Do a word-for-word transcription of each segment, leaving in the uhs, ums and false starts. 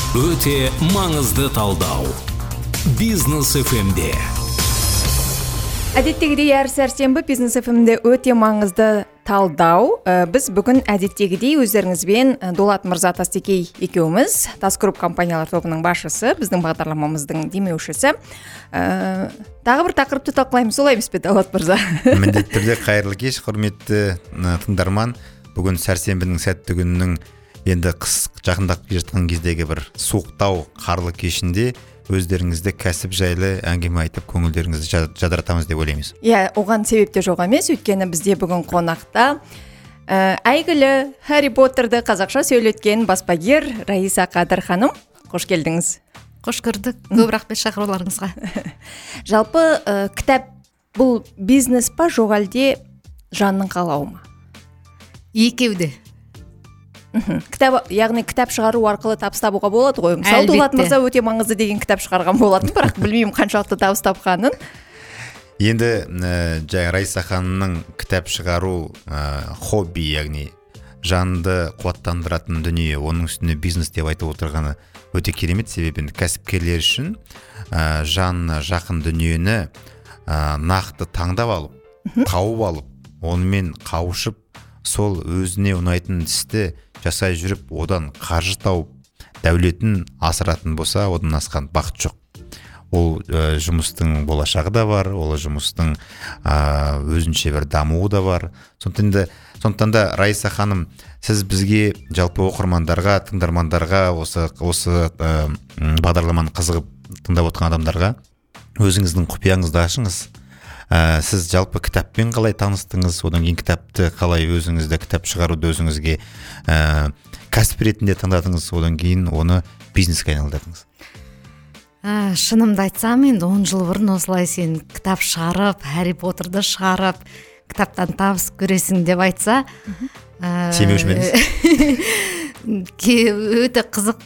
Өте маңызды талдау. Бизнес эф эмде. Әдеттегідей әр сәрсенбі Бизнес эф эмде өте маңызды талдау. Біз бүгін әдеттегідей өздеріңізбен Дулат Мырза Тастекей екеуміз, Тасгрупп компаниялар тобының басшысы, біздің бағдарламамыздың демеушісі. Тағы бір тақырыпты талқылаймыз, солай емес пе, Дулат Мырза? Міндетті түрде қайырлы кеш, құрметті тыңдарман. Бүгін сәрсенбінің сәтті күнінің енді қыс жақындап келе жатқан кездегі бір суықтау қарлы кешінде өздеріңізді кәсіп жайлы әңгіме айтып көңілдеріңізді жадыратамыз деп ойлаймыз. Иә, оған себеп те жоқ емес, өйткені бізде бүгін қонақта ә, әйгілі Харри Поттерді қазақша сөйлеткен баспагер Раиса Қадыр ханым. Қош келдіңіз. Қош көрдік. Көп рахмет шақыруларыңызға. Жалпы ә, кітап бұл бизнес па, жоқ әлде жанның қалауы ма? Екеуде. Кітап, яғни кітап шығару арқылы табыс табуға болады ғой. Мысалы, Дулат Мырза өте маңызды деген кітап шығарған болатын, бірақ білмеймін қаншалықты табыс тапқанын. Енді ә, Раиса ханымның кітап шығару ә, хобби, яғни жанды қуаттандыратын дүние, оның үстіне бизнес деп айтып отырғаны өте керемет. Себебі кәсіпкерлер үшін ә, жанына жақын дүниені ә, нақты таңдап алып, тауып алып, онымен қауышып, сол өзіне ұнайтын істі жасай жүріп, одан қаржы тауып, дәулетін асыратын болса, одан асқан бақыт жоқ. Ол ә, жұмыстың болашағы да бар, ол жұмыстың ә, өзінше бір дамуы да бар. Сондықтан да Раиса ханым, сіз бізге жалпы оқырмандарға, тыңдармандарға, осы осы ә, бағдарламаны қызығып тыңдап отырған адамдарға өзіңіздің құпияңызды ашыңыз. Ә, сіз жалпы кітаппен қалай таныстыңыз, одан кейін кітапты қалай өзіңізді, кітап шығаруды өзіңізге ә, кәсіп ретінде таңдадыңыз, одан кейін оны бизнеске айналдырдыңыз? Ә, шынымды айтсам, енді он жыл бұрын осылай сен кітап шығарып, Харри Поттерді шығарып, кітаптан табыс көресің деп айтса, сенбеуші ме едіңіз? Өте қызық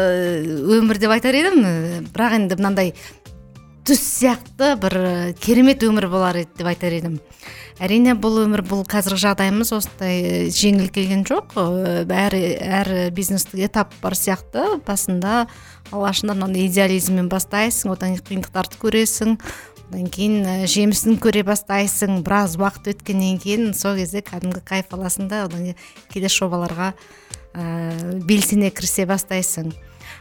өмір деп айтар едім, бірақ енді мынандай түс сияқты бір керемет өмір болар еді деп айтар едім. Әрине бұл өмір, бұл қазіргі жағдайымыз осындай жеңіл келген жоқ. Әр, әр бизнестік этап бар сияқты. Басында алғашында мынандай идеализммен бастайсың, одан қиындықтарды көресің, одан кейін жемісін көре бастайсың. Біраз уақыт өткеннен кейін сол кезде кәдімгі кайф аласың да, одан кейде жобаларға ә, белсене кірісе бастайсың.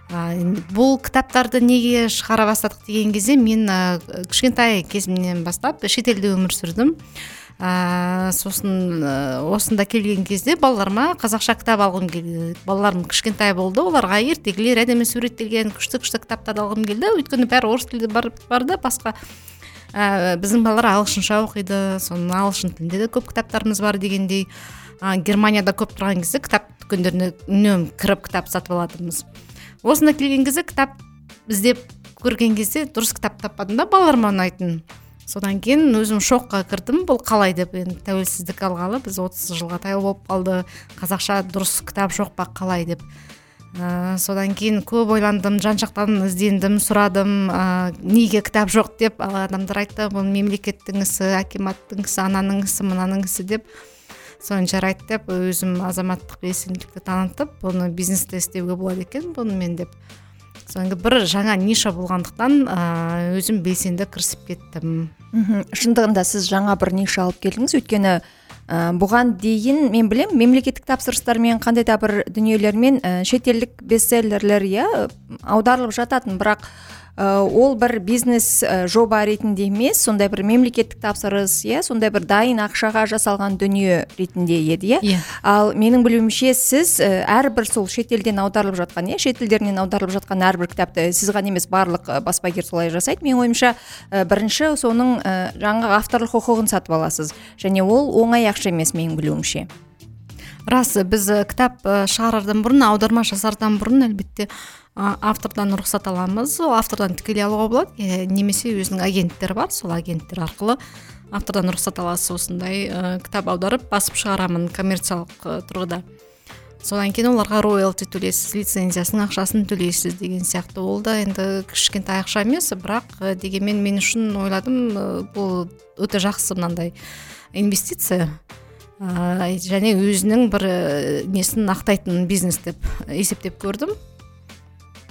Бұл кітаптарды неге шығара бастадық деген кезде мен ә, кішкентай кезімнен бастап шетелде өмір сүрдім. Ә, сосын ә, осында келген кезде балаларыма қазақша кітап алғым келді. Балаларым кішкентай болды, оларға ертегілер, әдемі суреттелген күшті-күшті кітаптарды алғым келді. Өйткені бәрі орыс тілде бар, барды, басқа ә, біздің балалар ағылшынша оқиды, соның ағылшын тілінде де көп кітаптарымыз бар дегендей. Ә, Германияда көп тұрған кезде кітап дүкендеріне үнемі кіріп кітап сатып алатынбыз. Осында келген кезде кітап іздеп көрген кезде дұрыс кітап таппадым да, балаларыма ұнайтын. Содан кейін өзім шоққа кірдім, бұл қалай деп. Енді тәуелсіздік алғалы біз отыз жылға таяу болып қалды, қазақша дұрыс кітап жоқ па, қалай деп. Ә, содан кейін көп ойландым, жан-жақтан іздендім, сұрадым, ә, неге кітап жоқ деп. Адамдар айтты, бұл мемлекеттің ісі, акиматтың ісі, ананың ісі, мынаның ісі деп. Соны жарайды деп, өзім азаматтық белсенділікті танытып, бұны бизнесте істеуге болады екен, бұны мен деп. Соңғы бір жаңа ниша болғандықтан өзім белсенді кірісіп кеттім. Шындығында сіз жаңа бір ниша алып келдіңіз, өйткені бұған дейін мен білем, мемлекеттік тапсырыстармен, қандай да бір дүниелермен шетелдік бестселлерлер иә аударылып жататын, бірақ ол бір бизнес жоба ретінде емес, сондай бір мемлекеттік тапсырыс, иә, сондай бір дайын ақшаға жасалған дүние ретінде еді, иә. Ал менің білуімше сіз әрбір сол шетелден аударылып жатқан, иә, шетелдерінен аударылып жатқан әрбір кітапты сіз ғана емес, барлық баспагер солай жасайды. Мен ойымша, бірінші соның жаңағы авторлық құқығын сатып аласыз, және ол оңай ақша емес менің білуімше. Рас, біз кітап шығарардан бұрын, аударма жасардан бұрын әлбетте автордан рұқсат аламыз. Ол автордан тікелей алуға болады, немесе өзінің агенттері бар, сол агенттер арқылы автордан рұқсат аласыз. Осындай ә, кітап аударып басып шығарамын коммерциялық тұрғыда. Содан кейін оларға роялти төлейсіз, лицензиясының ақшасын төлейсіз деген сияқты. Ол да енді кішкентай ақша емес, бірақ дегенмен мен үшін ойладым, бұл өте жақсы мынандай инвестиция. және өзінің бір несін ақтайтын бизнес деп есептеп көрдім.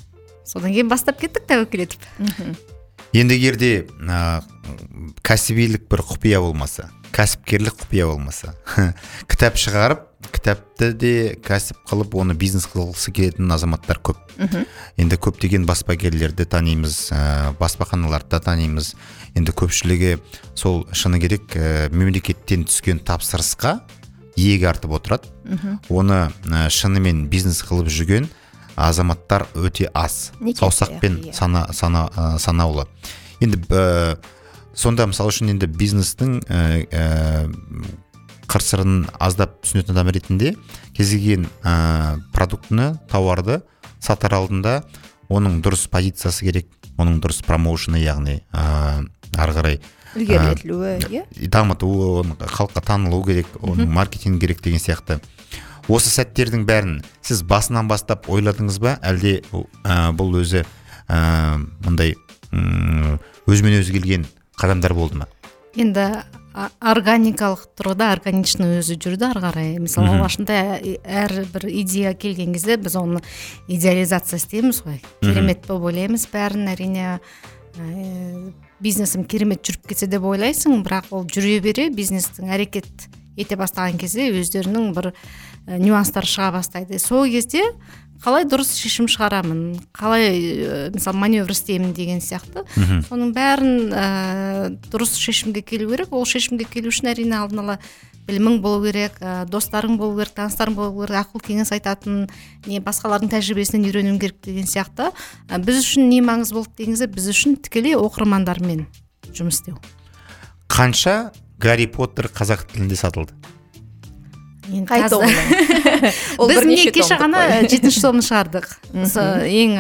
содан кейін бастап кеттік тәуекел етіп. Енді егерде ә, кәсібилік бір құпия болмаса, кәсіпкерлік құпия болмаса, кітап шығарып, кітапты де кәсіп қылып, оны бизнес қылғысы келетін азаматтар көп. Енді көптеген баспагерлерді танимыз, ә, баспаханаларды танимыз. Енді көпшілігі сол шыны керек ә, мемлекеттен түскен тапсырысқа иек артып отырады. Оны ә, шынымен бизнес қылып жүрген азаматтар өте аз. Саусақпен сана, сана, ә, санаулы. Енді ә, сонда мысалы үшін енді бизнестің ә, ә, қыр-сырын аздап түсінетін адам ретінде кез келген ә, продуктыны, тауарды сатар алдында оның дұрыс позициясы керек, оның дұрыс промоушны, яғни ә, ары қарай ілгерілетілуі, дамытуы, халыққа танылу керек, оның маркетинг керек деген сияқты. Осы сәттердің бәрін сіз басынан бастап ойладыңыз ба, әлде ә, бұл өзі ә, мындай өзімен өзі келген қадамдар болды ма? Енді органикалық тұрғыда органичный өзі жүрді ары қарай. Мысалы, алғашында әр бір идея келген кезде біз оны идеализация істейміз ғой. Керемет болып ойлаймыз бәрін, әрине ә, бизнесім керемет жүріп кетсе деп ойлайсың, бірақ ол жүре бере бизнестің әрекет ете бастаған кезде өздерінің бір нюанстар шыға бастайды. Сол кезде қалай дұрыс шешім шығарамын, қалай мысалы маневр істеймін деген сияқты. Соның бәрін ә, дұрыс шешімге келу керек. Ол шешімге келу үшін әрине алдын ала білімің болу керек, ә, достарың болу керек, таныстарың болу керек, ақыл кеңес айтатын, не басқалардың тәжірибесінен үйренуің керек деген сияқты. Ә, біз үшін не маңыз болды дегенде, біз үшін тікелей оқырмандармен жұмыс істеу. Қанша Гарри Поттер қазақ тілінде сатылды? Қай томның? Біз не кеше ғана жетінші томын шығардық. Ең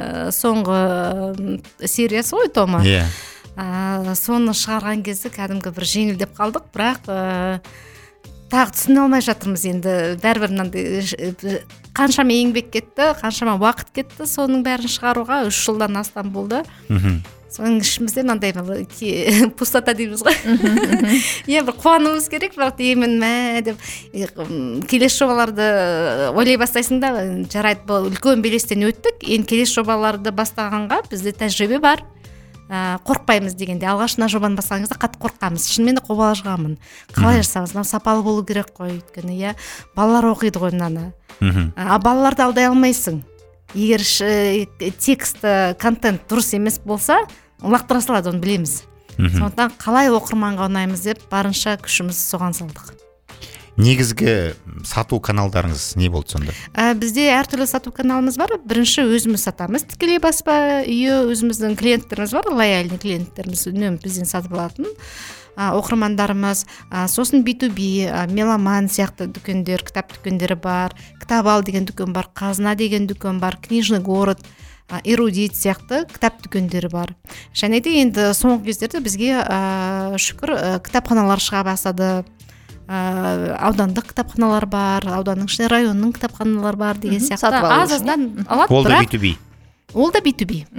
соңғы сериясы ғой томы. Соны шығарған кезде кәдімгі бір жеңілдеп қалдық, бірақ тағы түсіне алмай жатырмыз енді. Бәрібір мынандай қаншама еңбек кетті, қаншама уақыт кетті, соның бәрін шығаруға үш жылдан астам болды. Соның ішімізде мынандай пустота дейміз ғой. Е, бір қуануымыз керек, бірақ деймін мә деп келесі жобаларды ойлай бастайсың да, жарайды, бұл үлкен белестен өттік, енді келесі жобаларды бастағанға бізде тәжірибе бар. Қорқпаймыз дегенде, алғашына жобаны бастағаныңызда қатты қорқамыз. Шынымен де қобалжығамын. Қалай жасамыз? Мынау сапалы болу керек қой, өйткені иә, балалар оқиды ғой мынаны. А балаларды алдай алмайсың. Егер текст, контент дұрыс емес болса, лақтыра салады, оны білеміз. Сондықтан қалай оқырманға ұнаймыз деп барынша күшіміз соған салдық. Негізгі сату каналдарыңыз не болды сонда? Ә, бізде әртүрлі сату каналымыз бар. Бірінші өзіміз сатамыз, тікелей баспа үйі, өзіміздің клиенттеріміз бар, лояльный клиенттеріміз үнемі бізден сатып алатын ә, оқырмандарымыз. Ә, сосын би ту би, ә, меломан сияқты дүкендер, кітап дүкендері бар, кітап ал деген дүкен бар, қазына деген дүкен бар, книжный город, ә, эрудит сияқты кітап дүкендері бар. Және де енді соңғы кездерде бізге ә, шүкір ә, кітапханалар шыға бастады. Ә, аудандық кітапханалар бар, ауданның ішінде районның кітапханалар бар деген сияқты аз-аздан алады. Ол да би ту би. Ол да би ту би.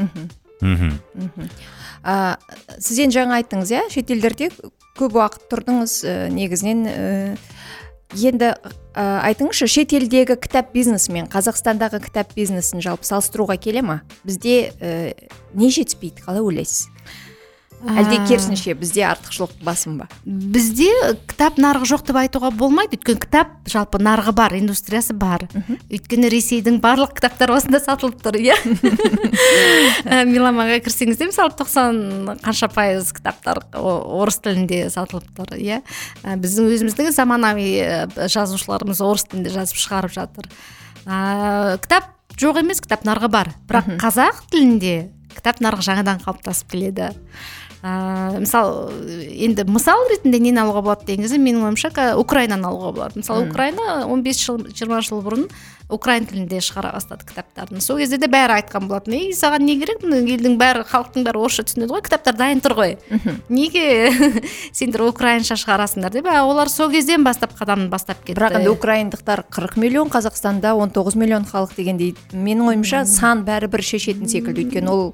Сіз енді жаңа айттыңыз, иә, шетелдерде көп уақыт тұрдыңыз, негізінен енді айтыңызшы, шетелдегі кітап бизнесі мен Қазақстандағы кітап бизнесін жалпы салыстыруға келе ма? Бізде не жетіспейді, қалай ойлайсыз? Әлде керісінше бізде артықшылық басым ба? Бізде кітап нарығы жоқ деп айтуға болмайды. Өйткені кітап жалпы нарығы бар, индустриясы бар. Өйткені Ресейдің барлық кітаптары осында сатылып тұр, иә. Меломанға кірсеңізде, мысалы тоқсан қанша пайыз кітаптар орыс тілінде сатылып тұр, иә. Біздің өзіміздің заманауи жазушыларымыз орыс тілінде жазып шығарып жатыр. Кітап жоқ емес, кітап нарығы бар. Бірақ қазақ тілінде кітап нарығы жаңадан қалыптасып келеді. Ә, мысал, енді мысал ретінде нені алуға болады дегенде, менің ойымша Украинаны алуға болады. Мысалы, Украина он бес жыл, жиырма жыл бұрын Украин тілінде шығара бастады кітаптарын. Сол кезде де бәрі айтқан болатын. Ей, саған не керек? Елдің бәрі, халықтың бәрі орысша түсінеді ғой, кітаптар дайын тұр ғой. Неге сендер украинша шығарасыңдар деп? Олар сол кезден бастап қадамын бастап кетті. Бірақ енді украиндықтар қырық миллион, Қазақстанда он тоғыз миллион халық дегендей. Менің ойымша сан бәрібір шешетін секілді. Өйткені ол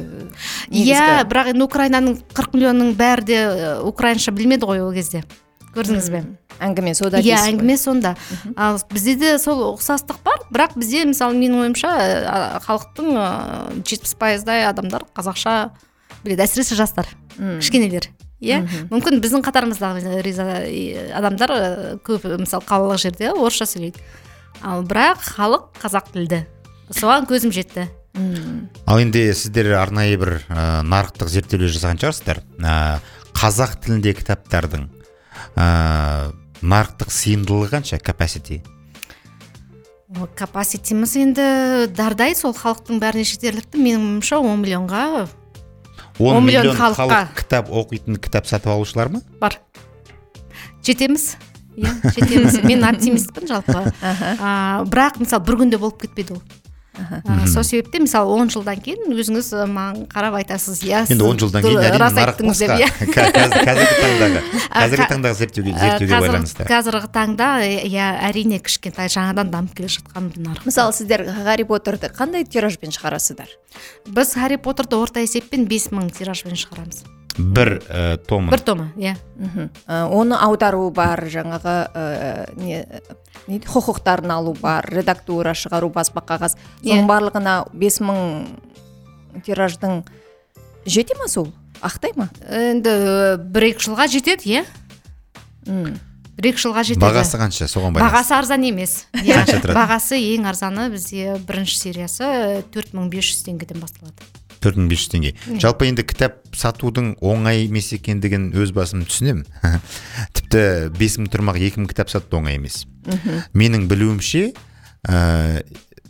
Иә, бірақ енді Украинаның қырық миллионның бәрі де украинша білмеді ғой ол кезде. көрдіңіз бе? Әңгіме сода иә әңгіме сонда. Ал бізде де сол ұқсастық бар, бірақ бізде мысалы менің ойымша халықтың жетпіс пайыздай адамдар қазақша біледі, әсіресе жастар, кішкенелер. Иә, мүмкін біздің қатарымыздағы адамдар көп мысалы қалалық жерде орысша сөйлейді. Ал бірақ халық қазақ тілді. Соған көзім жетті. Ал енді сіздер арнайы бір ә, нарықтық зерттеулер жасаған шығарсыздар. Ә, қазақ тілінде кітаптардың ә, нарықтық сыйымдылығы қанша, capacity? Capacity-міз енді дардай, сол халықтың бәріне жетерлікті. Менің ойымша он миллионға он миллион халыққа кітап оқитын, кітап сатып алушылар ма? Бар. Жетеміз. Иә, жетеміз. Мен оптимистпін жалпы. А, бірақ мысалы бір күнде болып кетпейді ол. А, сол себепте мысалы он жылдан кейін өзіңіз маған қарап айтасыз. Иә, енді он жылдан кейін әрине нарық басқа. Қазіргі таңдағы қазіргі таңдағы зерттеуге зерттеуге байланысты. Қазіргі таңда иә әрине кішкентай жаңадан дамып келе жатқан нарық. Мысалы сіздер Гарри Поттерді қандай тиражбен шығарасыздар? Біз Гарри Поттерді орта есеппен бес мың тиражбен шығарамыз. Бір ә, томы. Бір томы, иә. Оны аудару бар, жаңағы ә, не, не құқықтарын алу бар, редактура шығару, баспа қағаз. Соның барлығына бес мың тираждың жете ма сол? Ақтай ма? Енді бір-екі жылға жетеді, иә. Бір-екі жылға жетеді. Бағасы қанша? Соған байланысты. Бағасы арзан емес. Бағасы ең арзаны бізде бірінші сериясы төрт мың бес жүз теңгеден басталады. төрт мың бес жүз теңге. Жалпы енді кітап сатудың оңай емес екендігін өз басым түсінемін. Тіпті бес мың тұрмақ екі мың кітап сату оңай емес. Менің білуімше ә,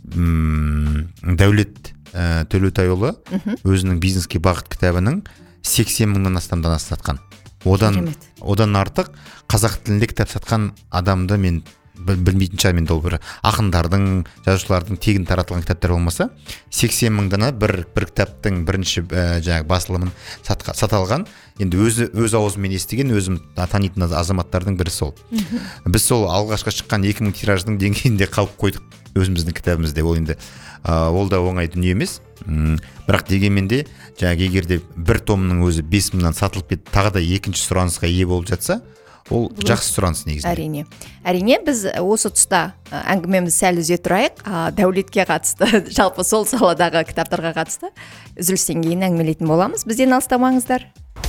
Дәулет ә, Төлеутайұлы өзінің бизнеске бағыт кітабының сексен мыңнан астам данасын сатқан. Одан, одан артық қазақ тілінде кітап сатқан адамды мен білмейтін шығармын. Енді ол бір ақындардың, жазушылардың тегін таратылған кітаптар болмаса, сексен мың дана бір бір кітаптың бірінші ә, жаңағы басылымын сатқа, саталған. Енді өзі өз аузымен естіген, өзім танитын азаматтардың бірі сол. Біз сол алғашқы шыққан екі мың тираждың деңгейінде қалып қойдық өзіміздің кітабымызда. Ол енді ә, ол да оңай дүние емес. М, бірақ дегенмен де жаңағы егер де бір томның өзі бес мыңнан сатылып кетіп, тағы да екінші сұранысқа ие болып жатса, ол жақсы сұраныс негізінде. Әрине. Әрине біз осы тұста әңгімемізді сәл үзе тұрайық. Дәулетке қатысты, жалпы сол саладағы кітаптарға қатысты үзілістен кейін әңгімелейтін боламыз. Бізден алыстамаңыздар.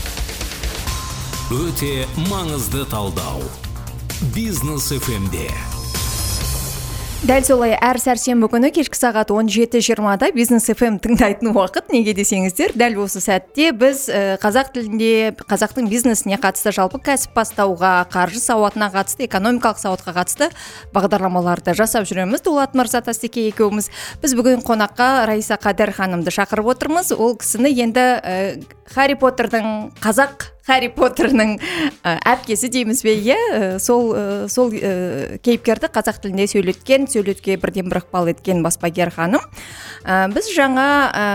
Өте маңызды талдау. Бизнес эф эм-де. Дәл солай әр сәрсенбі күні кешкі сағат он жеті жиырмада Бизнес эф эм тыңдайтын уақыт. Неге десеңіздер, дәл осы сәтте біз ә, қазақ тілінде, қазақтың бизнесіне қатысты, жалпы кәсіп бастауға, қаржы сауатына қатысты, экономикалық сауатқа қатысты бағдарламаларды жасап жүреміз. Дулат Мырза Тастеке екеуміз. Біз бүгін қонаққа Раиса Қадыр ханымды шақырып отырмыз. Ол кісіні енді ә, Харри Поттердің қазақ Харри Поттерның әпкесі дейміз бе, иә, сол сол кейіпкерді қазақ тілінде сөйлеткен, сөйлетке бірден бір ықпал еткен баспагер ханым. Біз жаңа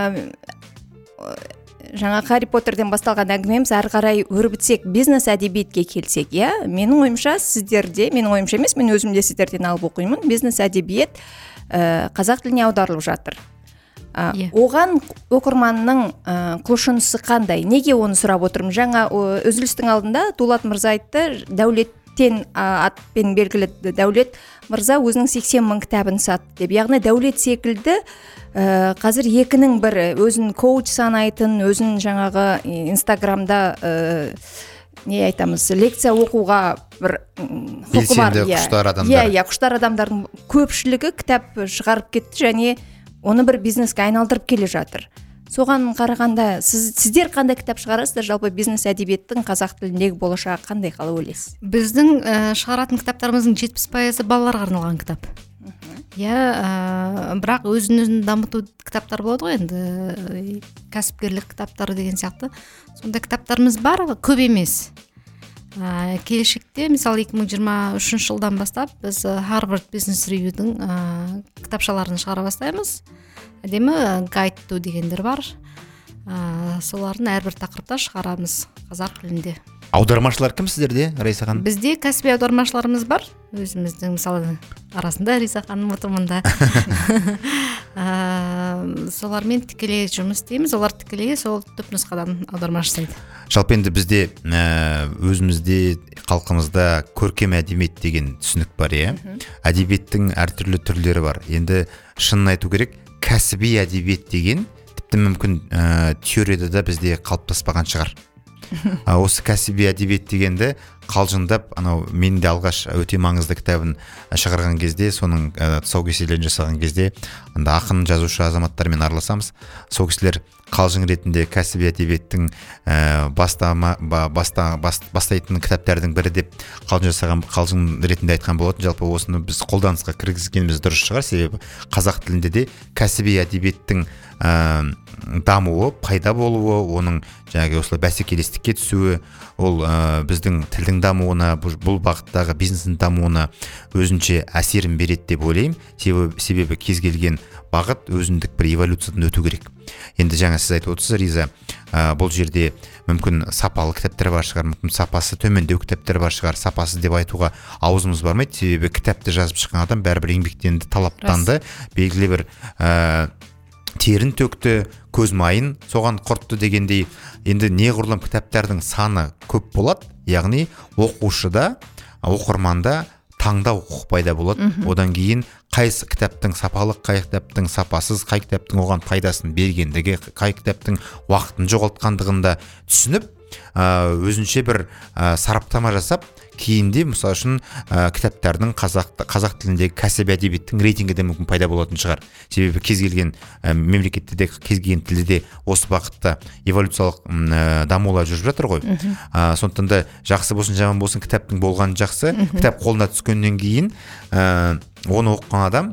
жаңа Харри Поттерден басталған әңгімеміз әрі қарай өрбітсек, бизнес әдебиетке келсек, иә, менің ойымша сіздерде, менің ойымша емес, мен өзім де сіздерден алып оқимын, бизнес әдебиет қазақ тіліне аударылып жатыр. Yeah. Оған оқырманның ә, құлшынысы қандай? Неге оны сұрап отырмын? Жаңа үзілістің алдында Дулат Мырза айтты, Дәулеттен ә, атпен белгілі Дәулет Мырза өзінің сексен мың кітабын сатты деп. Яғни Дәулет секілді ә, қазір екінің бірі, өзін коуч санайтын, өзін жаңағы Инстаграмда ә, не айтамыз, лекция оқуға бір құқы бар. Белсенді құштар адамдар. Иә, иә, құштар адамдардың көпшілігі кітап шығарып кетті, және оны бір бизнеске айналдырып келе жатыр. Соған қарағанда сіз, сіздер қандай кітап шығарасыздар? Жалпы бизнес әдебиеттің қазақ тіліндегі болашағы қандай, қалай ойлайсыз? Біздің ә, шығаратын кітаптарымыздың жетпіс пайызы балаларға арналған кітап. Иә, ә, бірақ өзін-өзін дамыту кітаптар болады ғой, енді кәсіпкерлік кітаптары деген сияқты. Сонда кітаптарымыз бар, көп емес. Ә, келешекте, мысалы екі мың жиырма үшінші жылдан бастап біз Harvard Business Review'дің ә, кітапшаларын шығара бастаймыз. Әдемі гайд ту дегендер бар. Ә, солардың әрбір тақырыпта шығарамыз қазақ тілінде. Аудармашылар кім сіздерде, Раиса ханым? Бізде кәсіби аудармашыларымыз бар. Өзіміздің мысалы арасында Раиса ханым отырмында. Ә, солармен тікелей жұмыс істейміз. Олар тікелей сол түпнұсқадан аударма жасайды. Жалпы енді бізде өзімізде халқымызда көркем әдебиет деген түсінік бар, иә. Әдебиеттің әртүрлі түрлері бар. Енді шынын айту керек, кәсіби әдебиет деген тіпті мүмкін теорияда да бізде қалыптаспаған шығар. Осы кәсіби әдебиет дегенді қалжыңдап, анау мен де алғаш өте маңызды кітабын шығарған кезде, соның тұсаукесерлерін жасаған кезде, анда ақын жазушы азаматтармен араласамыз. Сол кісілер қалжың ретінде кәсіби әдебиеттің бастама баста бастайтын кітаптардың бірі деп қалжың жасаған, қалжың ретінде айтқан болатын. Жалпы осыны біз қолданысқа кіргізгеніміз дұрыс шығар, себебі қазақ тілінде де кәсіби әдебиеттің дамуы, пайда болуы, оның жаңағы осылай бәсекелестікке түсуі, ол біздің тілдің дамуына, бұл бағыттағы бизнестің дамуына өзінше әсерін береді деп ойлаймын. Себебі, себебі кез келген бағыт өзіндік бір эволюциядан өту керек. Енді жаңа сіз айтып отырсыз, Риза, бұл жерде мүмкін сапалы кітаптар бар шығар, мүмкін сапасы төмендеу кітаптар бар шығар. Сапасыз деп айтуға аузымыз бармайды, себебі кітапты жазып шыққан адам бәрібір еңбектенді, талаптанды, белгілі бір терін төкті, көз майын соған құртты дегендей. Енді неғұрлым кітаптардың саны көп болады, яғни оқушыда, оқырманда таңдау құқық пайда болады. Одан кейін қайсы кітаптың сапалық, қай кітаптың сапасыз, қай кітаптың оған пайдасын бергендігі, қай кітаптың уақытын жоғалтқандығында түсініп, өзінше бір сараптама жасап, кейінде мысалы үшін кітаптардың қазақ, қазақ тіліндегі кәсіби әдебиеттің рейтингі де мүмкін пайда болатын шығар. Себебі кез келген мемлекетте де, кез келген тілде де осы бағытта эволюциялық дамулар жүріп жатыр ғой. Сондықтан да жақсы болсын, жаман болсын, кітаптың болғаны жақсы. Кітап қолына түскеннен кейін оны оқыған адам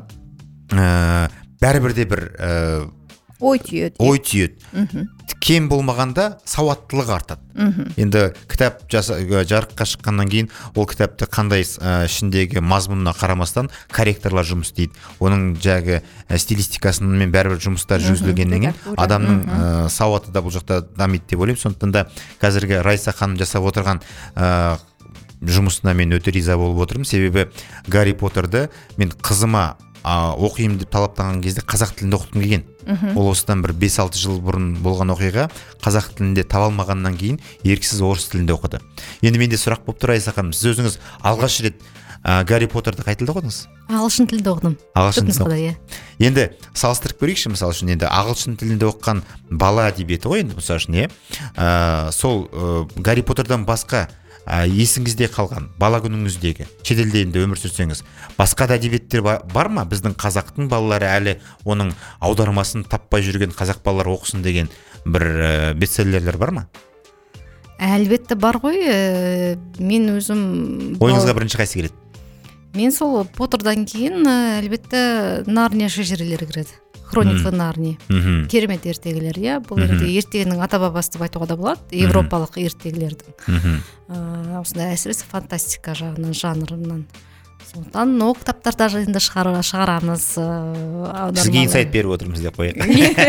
бәрібір де бір ой түйеді. Ой түйеді. Кем болмағанда сауаттылық артады. Енді кітап жарыққа шыққаннан кейін ол кітапты қандай ішіндегі мазмұнына қарамастан корректорлар жұмыс істейді. Оның жаңағы стилистикасымен бәрібір жұмыстар жүргізілгеннен кейін адамның сауаты да бұл жақта дамиды деп ойлаймын. Сондықтан да қазіргі Райса ханым жасап отырған жұмысына мен өте риза болып отырмын. Себебі Гарри Поттерді мен қызыма оқимын деп талаптаған кезде қазақ тілінде оқытқым келген. Ол осыдан бір бес алты жыл бұрын болған оқиға, қазақ тілінде таба алмағаннан кейін еріксіз орыс тілінде оқыды. Енді менде сұрақ болып тұр, Райса ханым, сіз өзіңіз алғаш рет Гарри Поттерді қай тілде оқыдыңыз? Ағылшын тілінде оқыдым. Ағылшын тілінде. Енді салыстырып көрейікші, мысалы үшін енді ағылшын тілінде оқыған бала әдебиеті ғой, енді мысалы үшін, иә. Сол Гарри Поттердан басқа есіңізде қалған бала күніңіздегі, шетелде енді өмір сүрсеңіз, басқа да әдебиеттер бар ма? Біздің қазақтың балалары әлі оның аудармасын таппай жүрген қазақ балалары оқысын деген бір бестселлерлер бар ма? Әлбетте бар ғой. Мен өзім... Ойыңызға бірінші қайсы келеді? Мен сол Поттердан кейін әлбетте Нарния шежірелері кіреді. Хроника Нарнии. Керемет ертегілер, иә. Бұл енді ертегінің ата бабасы деп айтуға да болады, европалық ертегілердің. Осындай әсіресе фантастика жағынан, жанрынан. Сондықтан ол кітаптарды енді шығарамыз. Сізге инсайт беріп отырмыз деп қояйық.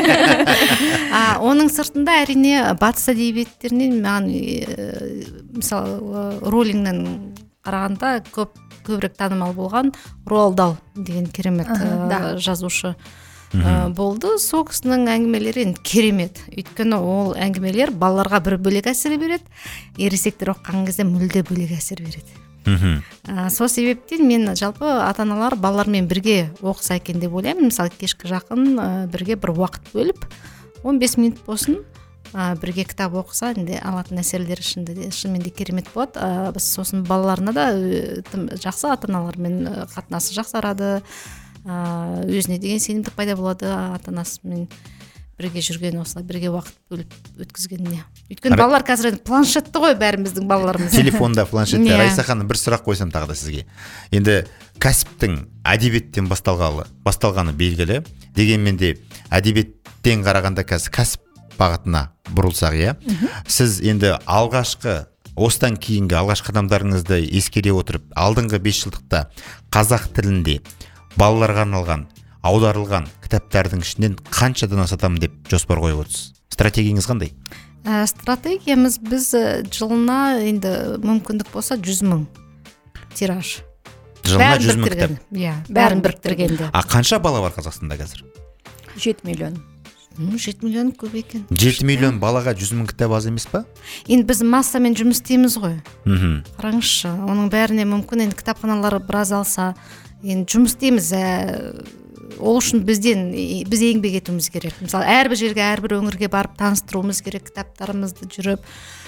Оның сыртында әрине батыс әдебиеттерінен мысалы Роулингнен қарағанда көп көбірек танымал болған Роалд Дал деген керемет жазушы болды. Сол кісінің әңгімелері енді керемет. Өйткені ол әңгімелер балаларға бір бөлек әсер береді, ересектер оқыған кезде мүлде бөлек әсер береді. Сол себептен мен жалпы ата-аналар балалармен бірге оқыса екен деп ойлаймын. Мысалы кешкі жақын бірге бір уақыт бөліп он бес минут болсын бірге кітап оқыса, енді алатын әсерлері шынымен де керемет болады. Біз сосын балаларына да жақсы ата-аналармен қатынасы жақсарады. Өзіне деген сенімдік пайда болады ата-анасымен бірге жүрген, осылай бірге уақыт бөліп өткізгеніне. Өйткені балалар қазір планшетті ғой, бәріміздің балаларымыз. Телефонда, планшетте. Райса ханым, бір сұрақ қойсам тағы да сізге. Енді кәсіптің әдебиеттен басталғаны, басталғаны белгілі. Дегенмен де әдебиеттен қарағанда қазір кәсіп бағытына бұрылсақ, иә. Сіз енді алғашқы осыдан кейінгі алғашқы қадамдарыңызды ескере отырып, алдыңғы бес жылдықта қазақ тілінде балаларға арналған, аударылған кітаптардың ішінен қаншадан асатамын деп жоспар қойып отырсыз? Стратегияңыз қандай? Стратегиямыз біз жылына енді мүмкіндік болса жүз мың тираж. Жылына жүз мың кітап. Иә, бәрін біріктіргенде. А қанша бала бар Қазақстанда қазір? жеті миллион. жеті миллион көп екен. жеті миллион балаға жүз мың кітап аз емес па? Енді біз массамен жұмыс істейміз ғой. Мхм. Қараңызшы, оның бәріне мүмкін енді кітапханалар біраз алса, енді жұмыс істейміз. Ол үшін бізден біз еңбек етуіміз керек. Мысалы, әрбір жерге, әрбір өңірге барып таныстыруымыз керек кітаптарымызды жүріп.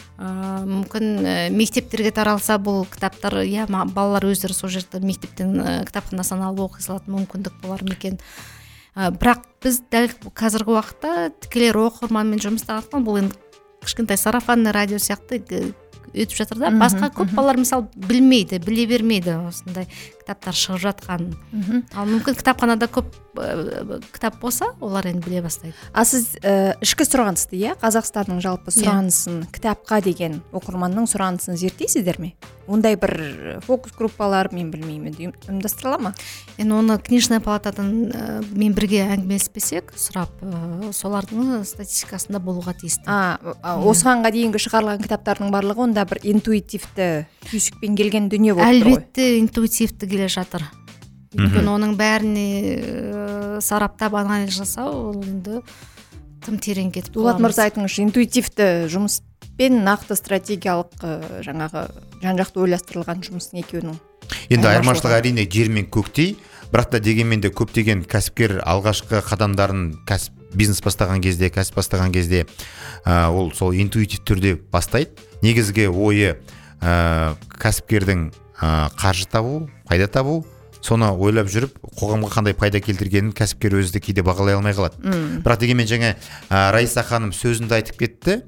Мүмкін мектептерге таралса бұл кітаптар, иә, балалар өздері сол жерде мектептен кітапханасынан алып оқи алатын мүмкіндік болар ма екен. Бірақ біз дәл қазіргі уақытта тікелей оқырманмен жұмыс істеп бұл енді кішкентай сарафанный радио сияқты өтіп жатыр да. Басқа көп балалар мысалы білмейді, біле бермейді осындай кітаптар шығып жатқанын. Ал мүмкін кітапханада көп кітап болса, олар енді біле бастайды. А сіз ішкі сұранысты, иә, Қазақстанның жалпы сұранысын, кітапқа деген оқырманның сұранысын зерттейсіздер ме? Ондай бір фокус группалар, мен білмеймін, ұйымдастырыла ма? Енді оны книжная палатадан мен бірге әңгімелеспесек, сұрап, солардың статистикасында болуға тиісті. Осығанға дейінгі шығарылған кітаптардың барлығы онда бір интуитивті түйсікпен келген дүние болып тұр ғой. Әлбетте интуитивті келе жатыр. Өйткені оның бәріне сараптап анализ жасау, ол енді тым терең кетіп қаламыз. Дулат мырза, айтыңызшы, интуитивті жұмыспен нақты стратегиялық жаңағы жан-жақты ойластырылған жұмыстың екеуінің. Енді айырмашылығы әрине жер мен көктей, бірақ та дегенмен де көптеген кәсіпкер алғашқы қадамдарын кәсіп бизнес бастаған кезде, кәсіп бастаған кезде ол сол интуитив түрде бастайды. Негізгі ойы кәсіпкердің қаржы табу, пайда табу, соны ойлап жүріп, қоғамға қандай пайда келтіргенін кәсіпкер өзі де кейде бағалай алмай қалады. Бірақ дегенмен жаңа Райса ханым сөзінде айтып кетті,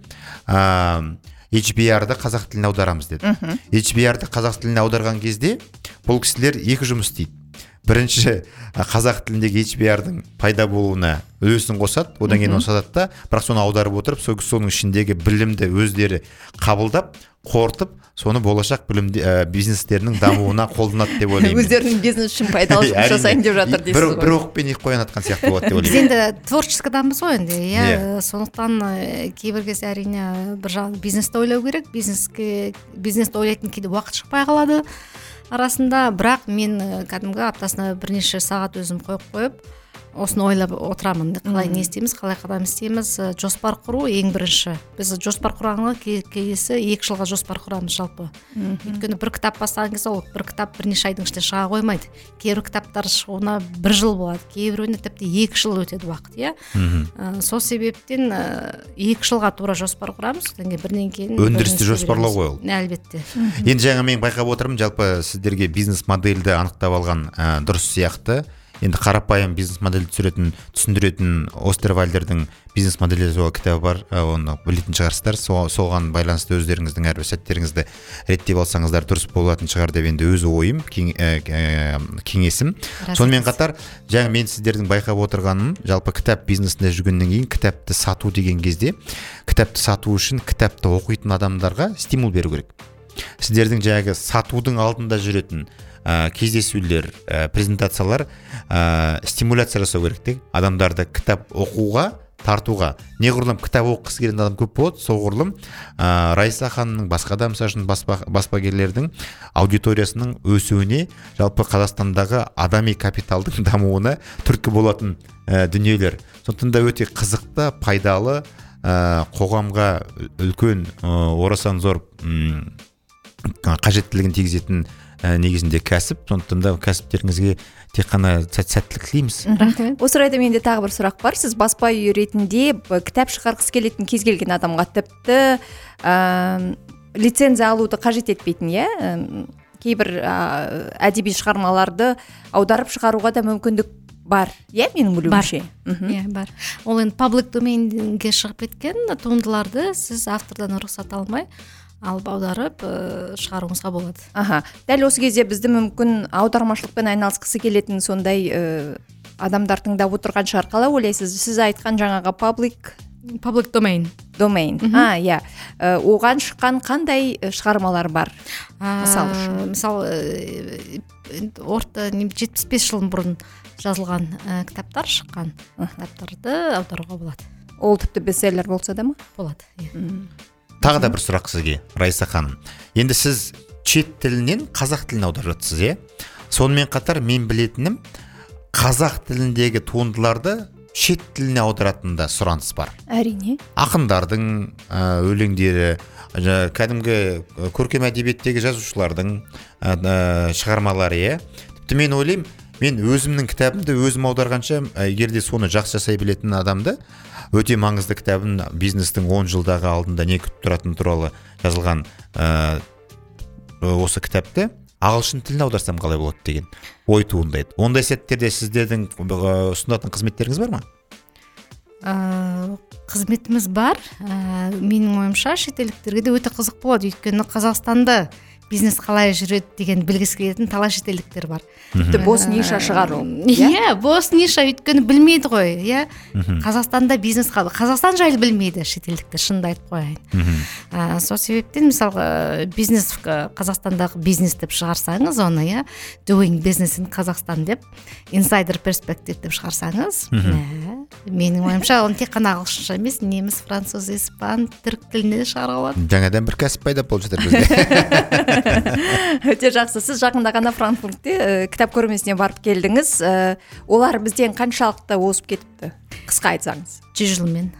эйч би ар-ды қазақ тіліне аударамыз деді. эйч би ар-ды қазақ тіліне аударған кезде бұл кісілер екі жұмыс істейді. Бірінші, қазақ тіліндегі эйч би ар-дың пайда болуына үлесін қосады, одан кейін оны сатады да, бірақ соны аударып отырып, соның ішіндегі білімді өздері қабылдап, қорытып, соны болашақ білім бизнестерінің дамуына қолданады деп ойлаймын. Өздерінің бизнес үшін пайдалы жұмыс жасайын деп жатыр дейсіз ғой. Бір оқпен екі қоян атқан сияқты болады деп ойлаймын. Біз енді творческий адамбыз ғой енді, иә. Сондықтан кейбір кезде әрине бір жағы бизнесті ойлау керек, бизнеске бизнесті ойлайтын кейде уақыт шықпай қалады арасында, бірақ мен кәдімгі аптасына бірнеше сағат өзім қойып қойып осыны ойлап отырамын. Қалай не істейміз, қалай қадам істейміз, жоспар құру ең бірінші. Біз жоспар құрғанға келесі екі жылға жоспар құрамыз жалпы. Өйткені бір кітап бастаған кезде ол бір кітап бірнеше айдың ішінде шыға қоймайды. Кейбір кітаптар шығуына бір жыл болады, кейбіреуіне тіпті екі жыл өтеді уақыт, иә. Сол себептен екі жылға тура жоспар құрамыз, одан кейін бірден кейін өндірісті жоспарлау ғой ол. Әлбетте. Енді жаңа мен байқап отырмын, жалпы сіздерге бизнес модельді анықтап алған дұрыс сияқты. Енді қарапайым бизнес модельді түсіретін, түсіндіретін Остервальдердің бизнес моделі туралы кітабы бар, оны білетін шығарсыздар. Соған байланысты өздеріңіздің әрбір сәттеріңізді реттеп алсаңыздар дұрыс болатын шығар деп енді өз ойым, кеңесім. Сонымен қатар, жаңа мен сіздердің байқап отырғаным, жалпы кітап бизнесінде жүргеннен кейін кітапты сату деген кезде, кітапты сату үшін кітапты оқитын адамдарға стимул беру керек. Сіздердің жаңағы сатудың алдында жүретін кездесулер, презентациялар стимуляция жасау керек. Адамдарды кітап оқуға, тартуға. Неғұрлым кітап оқығысы келген адам көп болады, соғұрлым Райса ханымның, басқа да мысалы баспагерлердің аудиториясының өсуіне, жалпы Қазақстандағы адами капиталдың дамуына түрткі болатын дүниелер. Сондықтан да өте қызықты, пайдалы, қоғамға үлкен орасан зор қажеттілігін тигізетін негізінде кәсіп. Сондықтан да кәсіптеріңізге тек қана сәттілік тілейміз. Осы орайда менде тағы бір сұрақ бар. Сіз баспа үйі ретінде кітап шығарғысы келетін кез келген адамға тіпті лицензия алуды қажет етпейтін, иә? Кейбір әдеби шығармаларды аударып шығаруға да мүмкіндік бар, иә, менің білуімше? Иә, бар. Ол енді паблик доменге шығып кеткен туындыларды сіз автордан рұқсат алмай алып аударып шығаруыңызға болады. Аха. Дәл осы кезде бізді мүмкін аудармашылықпен айналысқысы келетін сондай адамдар тыңдап отырған шығар. Қалай ойлайсыз? Сіз айтқан жаңағы паблик паблик домен. Домен. А, иә. Оған шыққан қандай шығармалар бар? Мысалы үшін. Мысалы, орта жетпіс бес жыл бұрын жазылған кітаптар шыққан. Кітаптарды аударуға болады. Ол тіпті бестселлер болса да ма? Болады. Тағы да бір сұрақ сізге, Райса ханым. Енді сіз шет тілінен қазақ тіліне аударып жатсыз, иә? Сонымен қатар мен білетінім, қазақ тіліндегі туындыларды шет тіліне аударатында сұраныс бар. Әрине. Ақындардың ә, өлеңдері, жа- кәдімгі көркем әдебиеттегі жазушылардың ә, ә, шығармалары, иә. Тіпті мен ойлаймын, мен өзімнің кітабымды өзім аударғанша, егер де соны жақсы жасай білетін адамды, өте маңызды кітабын, бизнестің он жылдағы алдында не күтіп тұратыны туралы жазылған ә, осы кітапты ағылшын тіліне аударсам қалай болады деген ой туындайды. Ондай сәттерде сіздердің ә, ұсынатын қызметтеріңіз бар ма? Ә, қызметіміз бар. Ә, менің ойымша шетелдіктерге де өте қызық болады, өйткені Қазақстанда бизнес қалай жүреді деген білгісі келетін талай шетелдіктер бар. Тіпті бос ниша шығару. Иә, бос ниша, өйткені білмейді ғой, иә. Қазақстанда бизнес қалай, Қазақстан жайлы білмейді шетелдіктер, шынымды айтып қояйын. Ә, сол себептен мысалға бизнес, Қазақстандағы бизнес деп шығарсаңыз, оны, иә, doing business in Қазақстан деп, insider perspective деп шығарсаңыз, менің ойымша оны тек қана ағылшынша емес, неміс, француз, испан, түрік тілінде шығаруға болады. Жаңадан бір кәсіп пайда болып жатыр бізде. Өте жақсы. Сіз жақында ғана Франкфуртте ә, кітап көрмесіне барып келдіңіз. Ә, олар бізден қаншалықты озып кетіпті? Қысқа айтсаңыз. Жүз жылмен.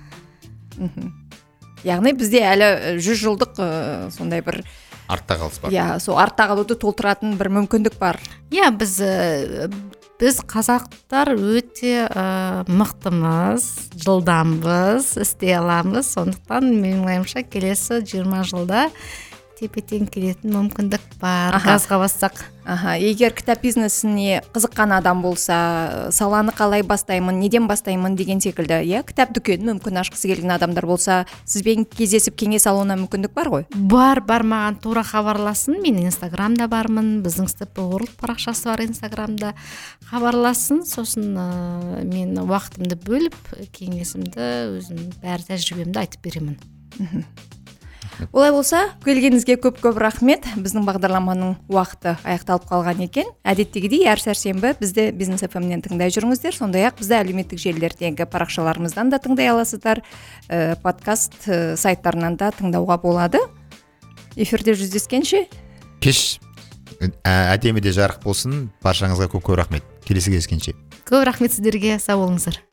Яғни бізде әлі жүз жылдық ә, сондай бір артта қалыс бар. Иә, сол артта қалуды толтыратын бір мүмкіндік бар. Иә, біз ә, біз қазақтар өте ә, мықтымыз, жылдамбыз, істей аламыз. Сондықтан менің ойымша келесі жиырма жылда тепе-тең келетін мүмкіндік бар. Газға бассақ. Аха, егер кітап бизнесіне қызыққан адам болса, саланы қалай бастаймын, неден бастаймын деген секілді, иә, кітап дүкенін мүмкін ашқысы келген адамдар болса, сізбен кездесіп кеңес алуына мүмкіндік бар ғой? Бар, бар, маған тура хабарласын. Мен Инстаграмда бармын, біздің Step World парақшасы бар Инстаграмда. Хабарласын, сосын ә, мен уақытымды бөліп, кеңесімді, өзім бәрі тәжірибемді айтып беремін. Олай болса, келгеніңізге көп-көп рахмет. Біздің бағдарламаның уақыты аяқталып қалған екен. Әдеттегідей әр сәрсенбі бізді Бизнес эф эм-нен тыңдай жүріңіздер. Сондай-ақ бізді әлеуметтік желілердегі парақшаларымыздан да тыңдай аласыздар. Ә, подкаст ә, сайттарынан да тыңдауға болады. Эфирде жүздескенше. Кеш әдемі де жарық болсын. Баршаңызға көп-көп рахмет. Келесі кездескенше. Көп рахмет сіздерге, сау болыңыздар.